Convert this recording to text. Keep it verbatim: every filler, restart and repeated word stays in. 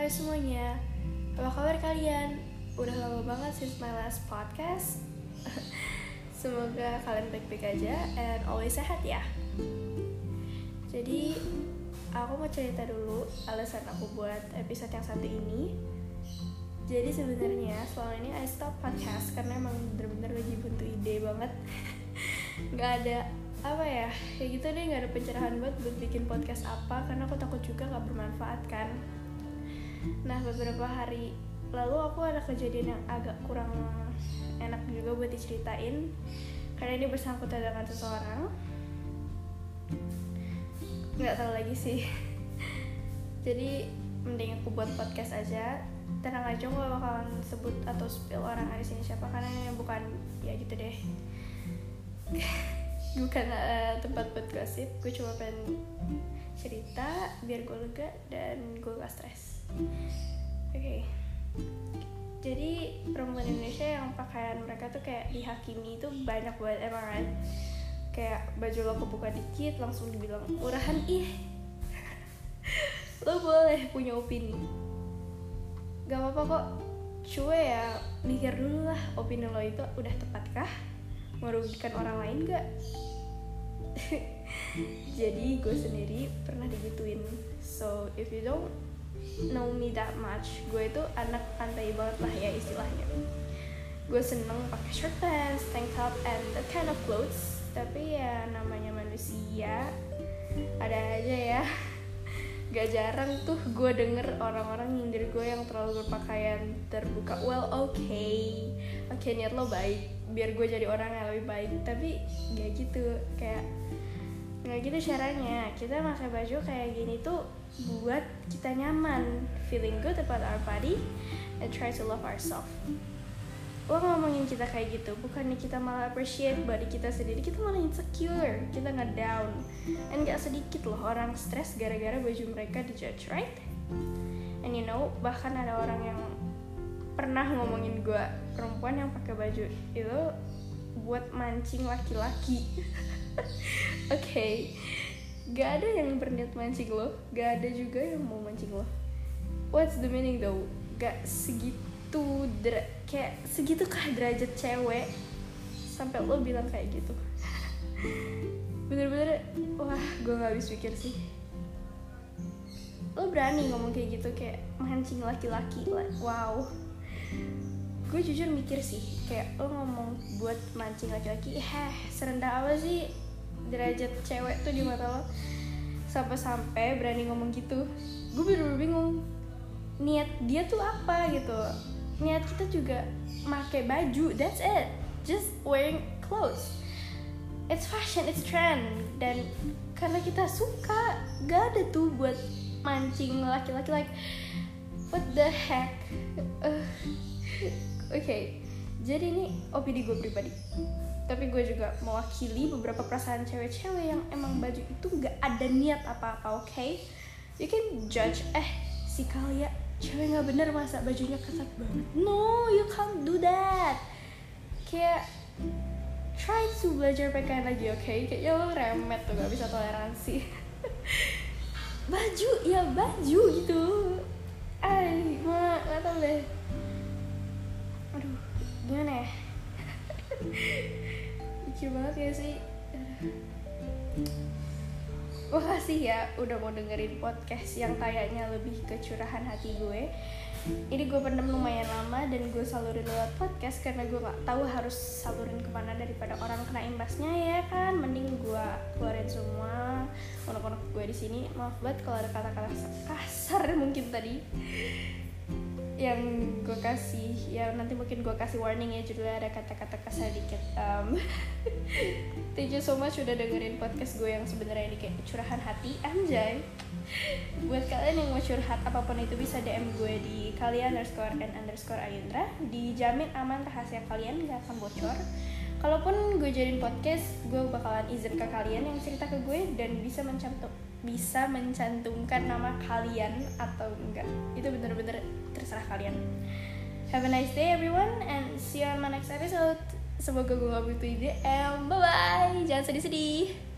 semuanya, apa kabar kalian? Udah lama banget since my last podcast. Semoga kalian baik-baik aja and always sehat ya. Jadi aku mau cerita dulu alasan aku buat episode yang satu ini. Jadi sebenarnya selama ini I stop podcast karena emang bener-bener lagi buntu ide banget. Gak ada apa ya, kayak gitu deh, gak ada pencerahan buat buat bikin podcast apa, karena aku takut juga gak bermanfaat kan. Nah beberapa hari lalu aku ada kejadian yang agak kurang enak juga buat diceritain, karena ini bersangkutan dengan seseorang. Gak tahu lagi sih. Jadi mending aku buat podcast aja. Tenang aja, gue gak bakalan sebut atau spill orang di sini siapa, karena ini bukan ya gitu deh. Bukan uh, tempat buat gosip. Gue cuma pengen cerita biar gue lega dan gue gak stres. Oke okay. Jadi perempuan Indonesia yang pakaian mereka tuh kayak dihakimi itu banyak banget emang kan. Kayak baju lo kebuka dikit langsung dibilang murahan, ih. Lo boleh punya opini, gak apa-apa kok. Cuma ya mikir dulu lah, opini lo itu udah tepatkah, merugikan orang lain gak? Jadi gue sendiri pernah digituin. So if you don't know me that much, gue itu anak pantai banget lah ya istilahnya. Gue seneng pakai shirt pants, tank top, and that kind of clothes. Tapi ya namanya manusia, ada aja ya. Gak jarang tuh gue denger orang-orang nyindir gue yang terlalu berpakaian terbuka. Well okay, oke okay, niat lo baik biar gue jadi orang yang lebih baik, tapi gak gitu. Kayak gak gitu caranya. Kita pakai baju kayak gini tuh buat kita nyaman, feeling good about our body, and try to love ourselves. Lo ngomongin kita kayak gitu, bukannya kita malah appreciate body kita sendiri, kita malah insecure, kita nge-down. And gak sedikit loh orang stres gara-gara baju mereka dijudge, right? And you know, bahkan ada orang yang pernah ngomongin gue, perempuan yang pakai baju itu buat mancing laki-laki. Oke, okay. Gak ada yang berniat mancing lo, gak ada juga yang mau mancing lo. What's the meaning though? Gak segitu tuh dra- kayak segitu kah derajat cewek sampai lo bilang kayak gitu. Bener-bener wah, gue gak habis pikir sih. Lo berani ngomong kayak gitu, kayak mancing laki-laki, like, wow. Gue jujur mikir sih, kayak lo ngomong buat mancing laki-laki, heh serendah apa sih derajat cewek tuh di mata lo sampai-sampai berani ngomong gitu. Gue bener-bener bingung niat dia tuh apa gitu. Niat kita juga pakai baju, that's it, just wearing clothes. It's fashion, it's trend. Dan karena kita suka, gak ada tuh buat mancing laki-laki, like what the heck. uh, Oke okay. Jadi ini opini gue pribadi, tapi gue juga mewakili beberapa perasaan cewek-cewek yang emang baju itu gak ada niat apa-apa. Oke okay? You can judge, eh si Kalia cewek gak bener masa bajunya ketat banget. No, you can't do that. Kayak try to belajar pakaian lagi, oke okay? Kayaknya lo remet tuh, gak bisa toleransi. Baju, ya baju gitu. Ay, ma, gak tau deh. Aduh, gimana ya? Mikir banget ya sih. Makasih ya udah mau dengerin podcast yang kayaknya lebih ke curahan hati gue. Ini gue pendem lumayan lama dan gue salurin lewat podcast karena gue gak tahu harus salurin kemana daripada orang kena imbasnya ya kan. Mending gue keluarin semua unek-unek gue di sini. Maaf banget kalau ada kata-kata kasar mungkin tadi yang gue kasih, ya nanti mungkin gue kasih warning ya, judulnya ada kata-kata kasar dikit. um, Thank you so much udah dengerin podcast gue yang sebenarnya ini kayak curahan hati, anjay. Buat kalian yang mau curhat apapun itu bisa D M gue di kalian underscore and underscore ayundra. Dijamin aman, rahasia kalian gak akan bocor. Kalaupun gue jadiin podcast, gue bakalan izin ke kalian yang cerita ke gue dan bisa mencantum bisa mencantumkan nama kalian atau enggak. Itu bener-bener terserah kalian. Have a nice day everyone and see you on my next episode. Semoga gue gak butuh ide. And bye bye. Jangan sedih-sedih.